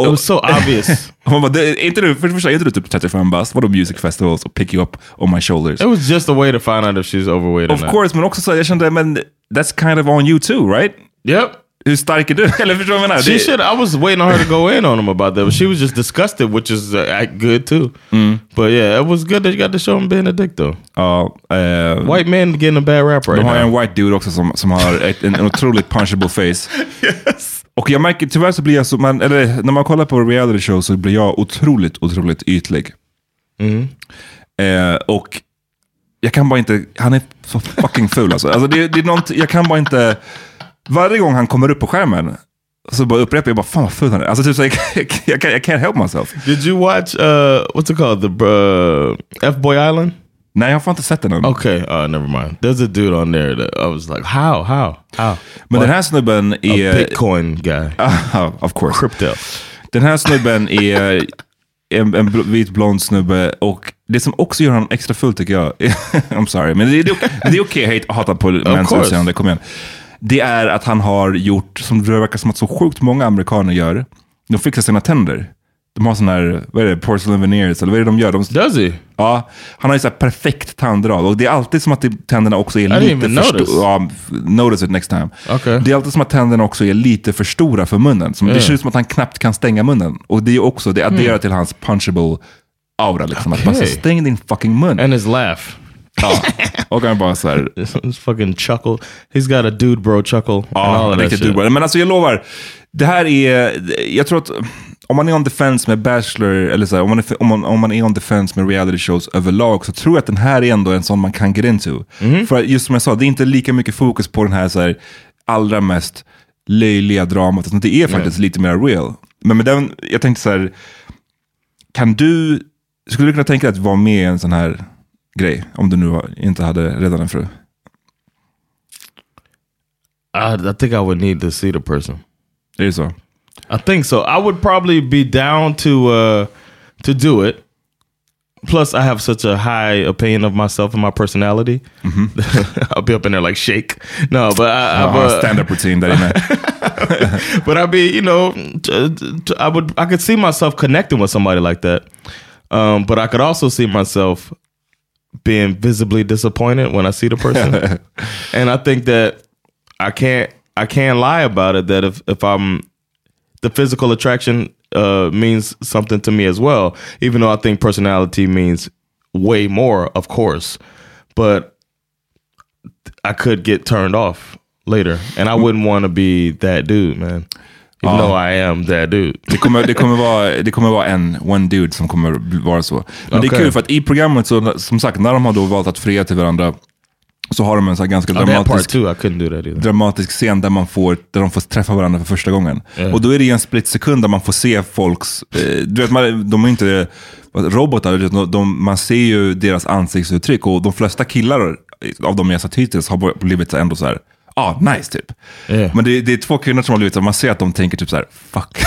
It was so obvious. Hon bara, är inte du, för det första, är inte du typ trettiofem bast? Vadå music festivals och pick you up on my shoulders? It was just a way to find out if she's overweight or Of not. course, men också så, jag kände, men that's kind of on you too, right? Yep. Hur stark är du? Eller förstår du vad jag menar? She should, I was waiting on her to go in on him about that, but she was just disgusted, which is uh, good too. Mm. But yeah, it was good that you got to show him being a dick though. Ja. Uh, White men getting a bad rap right de har now. en white dude också som, som har ett, en, en otroligt punchable face. Yes. Och jag märker, tyvärr så blir jag så, man, eller när man kollar på reality show så blir jag otroligt, otroligt ytlig. Mm. Uh, och jag kan bara inte, han är så fucking ful alltså. Alltså det, det är något, jag kan bara inte, varje gång han kommer upp på skärmen så bara upprepar jag bara, fan vad ful han är. Alltså typ så jag, jag, jag, I can't help myself. Did you watch, uh, what's it called, the uh, F-Boy Island? Nej, jag har inte sett den än. Okay, uh, never mind. There's a dude on there that I was like, how, how, how? Men What? Den här snubben är... A Bitcoin guy. Uh, of course. Crypto. Den här snubben är en, en bl- vit blond snubbe, och det som också gör honom extra full tycker jag, I'm sorry, men det är, det är okej okay, att hata på mäns utseende, kom igen. Det är att han har gjort, som det verkar som att så sjukt många amerikaner gör, de fixar sina tänder. De har sån här, vad är det, porcelain veneers, eller vad är det de gör? De, Does he? Ja, han har ju så här perfekt tandrad, och det är alltid som att det, tänderna också är I lite för stora. Ja, notice it next time. Okay. Det är alltid som att tänderna också är lite för stora för munnen. Som, yeah. Det ser ut som att han knappt kan stänga munnen. Och det är också, det adderar mm. till hans punchable aura liksom. Okay. Att bara stäng din fucking mun. And his laugh. Ja, och han bara så här. His fucking chuckle. He's got a dude bro chuckle. Ja, riktigt dude bro. Men alltså jag lovar, det här är, jag tror att om man är on the fence med Bachelor, eller så här, om, man är, om, man, om man är on the fence med reality shows överlag, så tror jag att den här är ändå en sån man kan get into. Mm. För just som jag sa, det är inte lika mycket fokus på den här, så här allra mest löjliga dramat. Det är faktiskt yeah. lite mer real. Men med den, jag tänkte så här, kan du, skulle du kunna tänka dig att vara med i en sån här grej, om du nu inte hade redan en fru? I, I think I would need to see the person. Är det så? I think so. I would probably be down to uh, to do it. Plus, I have such a high opinion of myself and my personality. Mm-hmm. I'll be up in there like shake. No, but I, I've a stand-up routine that in But I'd be, you know, t- t- I would, I could see myself connecting with somebody like that. Um, but I could also see myself being visibly disappointed when I see the person. And I think that I can't, I can't lie about it. That if if I'm the physical attraction uh, means something to me as well, even though I think personality means way more, of course. But I could get turned off later, and I wouldn't want to be that dude, man. Even though I am that dude. Det kommer, det kommer vara, det kommer vara en one dude som kommer vara så. Men okay. Det är kul för att i programmet, så, som sagt, när de har då valt att fria till varandra, så har de en så här ganska dramatisk, oh, I couldn't do that dramatisk scen där, man får, där de får träffa varandra för första gången. Yeah. Och då är det en split sekund där man får se folks, eh, du vet, man, de är inte robotar, de, man ser ju deras ansiktsuttryck, och de flesta killar av de jag sett hittills har blivit ändå så här, ah, nice typ. Yeah. Men det, det är två kvinnor som har blivit så, man ser att de tänker typ så här, fuck.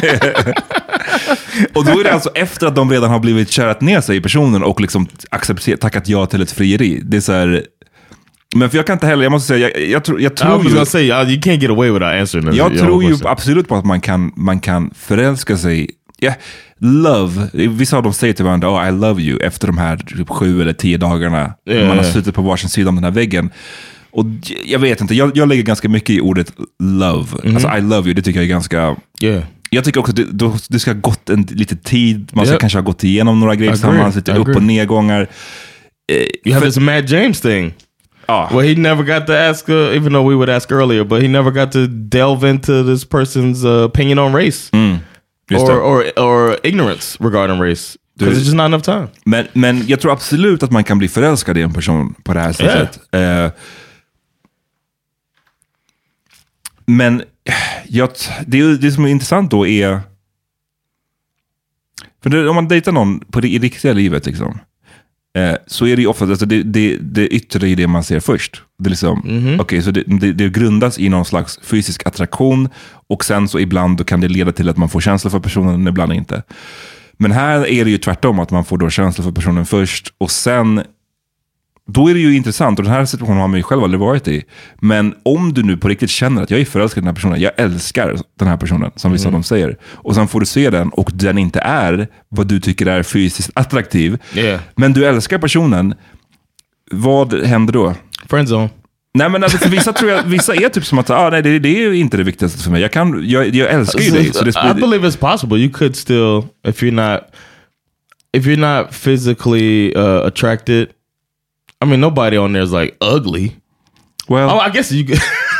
Och då är det alltså efter att de redan har blivit körat ner sig i personen och liksom accepterat, tackat ja till ett frieri. Det är så här. Men för jag kan inte heller, jag måste säga, jag, jag, tror, jag tror ju... Say, you can't get away without answering. Jag tror ju absolut på att man kan, man kan förälska sig. Yeah, love, vissa av dem säger till varandra, oh, I love you, efter de här typ sju eller tio dagarna. Yeah, man har suttit på varsin sida om den här väggen. Och jag vet inte, jag, jag lägger ganska mycket i ordet love. Mm-hmm. Alltså I love you, det tycker jag är ganska... Yeah. Jag tycker också att det, det ska ha gått en lite tid. Man ska yep. kanske ha gått igenom några grejer tillsammans, lite upp och nedgångar. Eh, you have this Matt James thing. Ah. Well, he never got to ask, uh, even though we would ask earlier, but he never got to delve into this person's uh, opinion on race. Mm. Or, or, or ignorance regarding race. Because it's just not enough time. Men, men jag tror absolut att man kan bli förälskad i en person på det här sättet. Yeah. Eh, Men jag, det, det som är intressant då är, för det, om man dejtar någon på det, i riktiga livet liksom, eh, så är det ju ofta, alltså det, det, det yttre i det man ser först. Det är liksom, mm-hmm. okay, så det, det, det grundas i någon slags fysisk attraktion, och sen så ibland då kan det leda till att man får känslor för personen, ibland inte. Men här är det ju tvärtom, att man får då känslor för personen först, och sen då är det ju intressant, och den här situationen har man ju själv aldrig varit i. Men om du nu på riktigt känner att jag är förälskad i den här personen, jag älskar den här personen, som vissa mm. av dem säger, och sen får du se den och den inte är vad du tycker är fysiskt attraktiv, yeah. men du älskar personen, vad händer då? Friendzone. Nej, men alltså, för vissa tror jag, vissa är typ som att ah, nej, det, det är ju inte det viktigaste för mig. Jag, kan, jag, jag älskar ju dig. Så det I believe it's possible. You could still, if you're not if you're not physically uh, attracted, I mean, nobody on there is like ugly. Well, oh, I guess you could.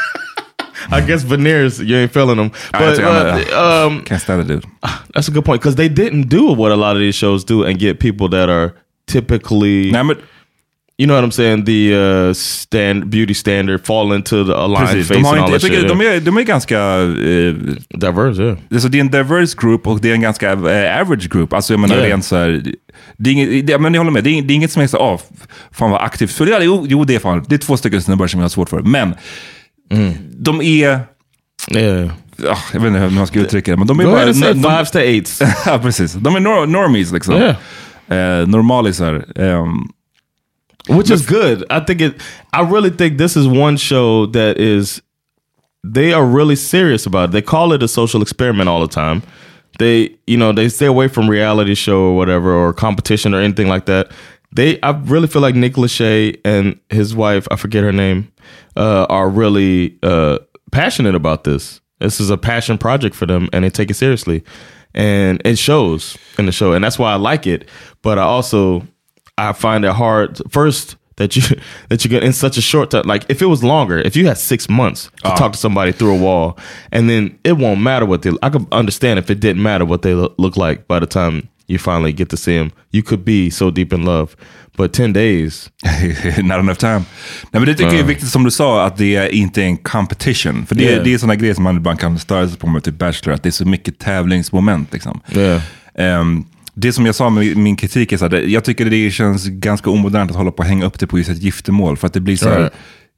I guess veneers, you ain't feeling them. But uh, um, can't stand it, dude. That's a good point, because they didn't do what a lot of these shows do and get people that are typically, nej, men, you know what I'm saying, the uh, stand beauty standard, fall into the aligned precis, face de har and all inte, that shit. De är, de är ganska uh, diverse, yeah. Alltså, det är en diverse group och det är en ganska uh, average group. Alltså jag menar yeah. rent så här, det är inget, det, men jag håller med, det är, det är inget som är så, ah, fan vad aktivt. Så det är, jo, jo, det är fan, det är två stycken snubbar som jag har svårt för. Men mm. de är... Yeah. Oh, jag vet inte hur man ska uttrycka det, men de är Go bara... De, de, fives to eights. Ja, precis. De är nor- normies liksom. Yeah. Uh, normalisar. Um, Which is good. I think it. I really think this is one show that is. They are really serious about it. They call it a social experiment all the time. They, you know, they stay away from reality show or whatever, or competition or anything like that. They, I really feel like Nick Lachey and his wife, I forget her name, uh, are really uh, passionate about this. This is a passion project for them, and they take it seriously, and it shows in the show, and that's why I like it. But I also. I find it hard first that you that you get in such a short time. Like if it was longer, if you had six months to uh. talk to somebody through a wall, and then it won't matter what they. I could understand if it didn't matter what they look like by the time you finally get to see them. You could be so deep in love, but ten days, not enough time. Nej, men det tycker uh. jag är viktigt som du sa, att det är inte en competition. För det, yeah. det är sådana grejer som man ibland kan störa sig på med typ Bachelor, att det är så mycket tävlingsmoment liksom. Yeah. Um, Det som jag sa med min kritik är så här, jag tycker det känns ganska omodernt att hålla på och hänga upp det på just ett giftermål, för att det blir så här, right.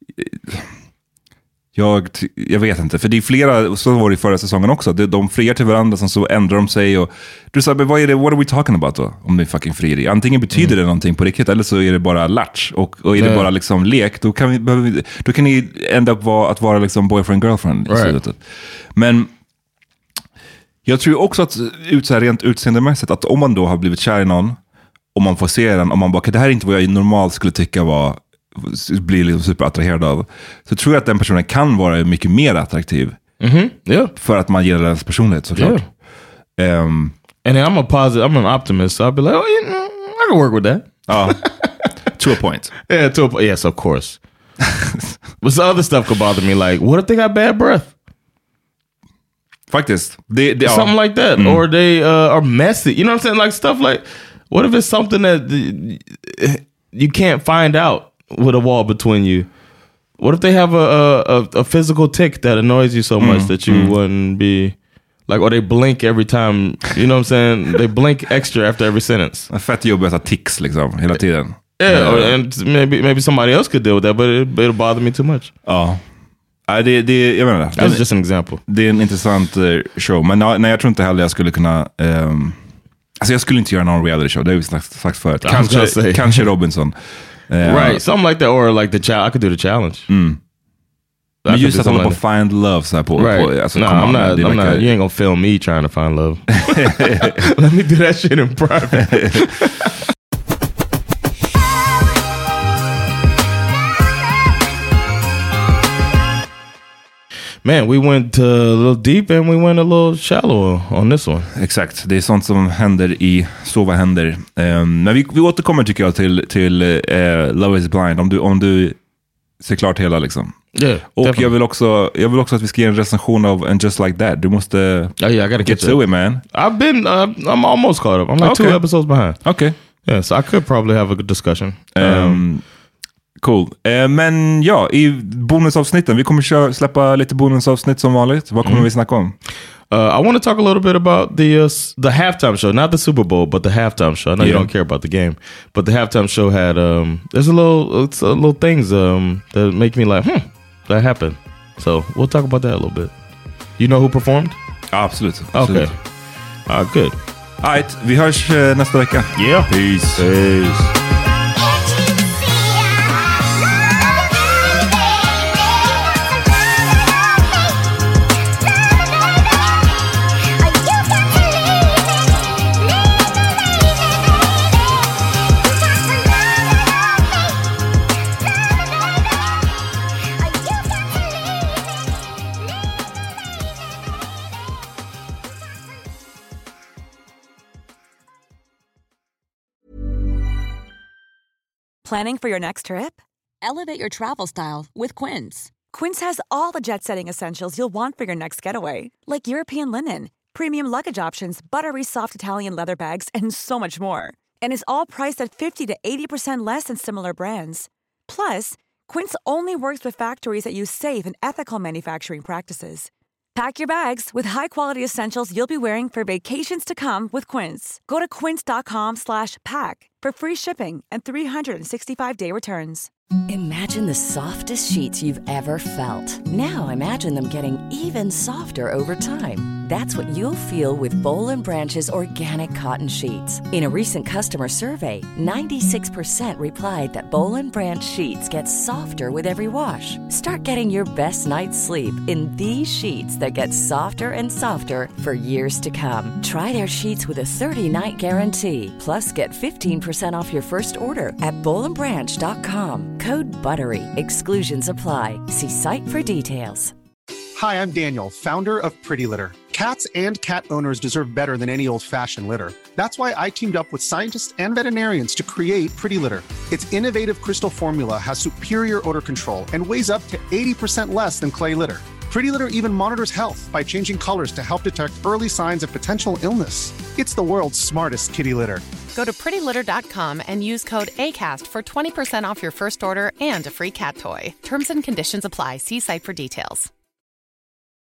jag, jag vet inte, för det är flera, så var det i förra säsongen också, de, de friar till varandra, som så ändrar de sig, och du sa, vad är det, what are we talking about då, om det fucking frieri? Antingen betyder mm. det någonting på riktigt, eller så är det bara latch, och, och är yeah. det bara liksom lek, då kan, vi, då kan ni ända upp vara, att vara liksom boyfriend, girlfriend i slutet. Men jag tror också att ut så här rent utseendemässigt, att om man då har blivit kär i någon och man får se den och man bara, okay, det här är inte vad jag normalt skulle tycka var, blir liksom superattraherad av, så tror jag att den personen kan vara mycket mer attraktiv. Mm-hmm. Yeah. För att man gillar dens personlighet, såklart. Yeah. Um, And I'm a positive, I'm an optimist, so I'll be like, oh, you know, I can work with that. Uh, to a point. Yeah, to a point. Yes, of course. But the other stuff could bother me, like, what if they got bad breath? Faktiskt. Det, det, something ja. like that. Mm. Or they uh, are messy. You know what I'm saying? Like stuff like, what if it's something that you can't find out with a wall between you? What if they have a a, a physical tick that annoys you so much mm. that you mm. wouldn't be... Like, or they blink every time, you know what I'm saying? They blink extra after every sentence. Fett jobbigt att tics liksom, hela tiden. Yeah, or, and maybe maybe somebody else could deal with that, but it, it'll bother me too much. Ja. Ja, det, det, jag menar, That's just an example. Det är en intressant uh, show, men nej, jag tror inte heller jag skulle kunna... Um, alltså jag skulle inte göra någon reality show, det har vi sagt, sagt förut. Kanske, kanske Robinson. Uh, right, something like that, or like the challenge. I could do the challenge. Mm. Men just att hålla på like find love så här på... Right. på alltså, no, I'm not, I'm like not, a, you ain't gonna film me trying to find love. Let me do that shit in private. Man, we went uh, a little deep and we went a little shallow on this one. Exakt, det är sånt som händer i Så vad händer. Um, men vi, vi återkommer tycker jag till, till uh, Love is blind, om du, om du ser klart hela liksom. Yeah, och jag vill, också, jag vill också att vi ska ge en recension av And Just Like That. Du måste oh, yeah, I gotta get to it, man. I've been, uh, I'm almost caught up. I'm like okay. two episodes behind. Okay. Yeah, so I could probably have a good discussion. Um, um, cool. Uh, men ja, i bonusavsnitten, vi kommer köra, släppa lite bonusavsnitt som vanligt. Vad kommer mm. vi snacka om? Uh, I want to talk a little bit about the uh, the halftime show, not the Super Bowl, but the halftime show. I know yeah. you don't care about the game, but the halftime show had um, there's a little, it's a little things um that make me like, hmm, that happened. So we'll talk about that a little bit. You know who performed? Absolut. Okay. Uh, good. All right, vi hörs uh, nästa vecka. Yeah. Peace. Peace. Planning for your next trip? Elevate your travel style with Quince. Quince has all the jet-setting essentials you'll want for your next getaway, like European linen, premium luggage options, buttery soft Italian leather bags, and so much more. And is all priced at fifty to eighty percent less than similar brands. Plus, Quince only works with factories that use safe and ethical manufacturing practices. Pack your bags with high-quality essentials you'll be wearing for vacations to come with Quince. Go to quince.com slash pack for free shipping and three sixty-five day returns. Imagine the softest sheets you've ever felt. Now imagine them getting even softer over time. That's what you'll feel with Boll and Branch's organic cotton sheets. In a recent customer survey, ninety-six percent replied that Boll and Branch sheets get softer with every wash. Start getting your best night's sleep in these sheets that get softer and softer for years to come. Try their sheets with a thirty-night guarantee. Plus, get fifteen percent off your first order at boll and branch dot com. Code BUTTERY. Exclusions apply. See site for details. Hi, I'm Daniel, founder of Pretty Litter. Cats and cat owners deserve better than any old-fashioned litter. That's why I teamed up with scientists and veterinarians to create Pretty Litter. Its innovative crystal formula has superior odor control and weighs up to eighty percent less than clay litter. Pretty Litter even monitors health by changing colors to help detect early signs of potential illness. It's the world's smartest kitty litter. Go to pretty litter dot com and use code ACAST for twenty percent off your first order and a free cat toy. Terms and conditions apply. See site for details.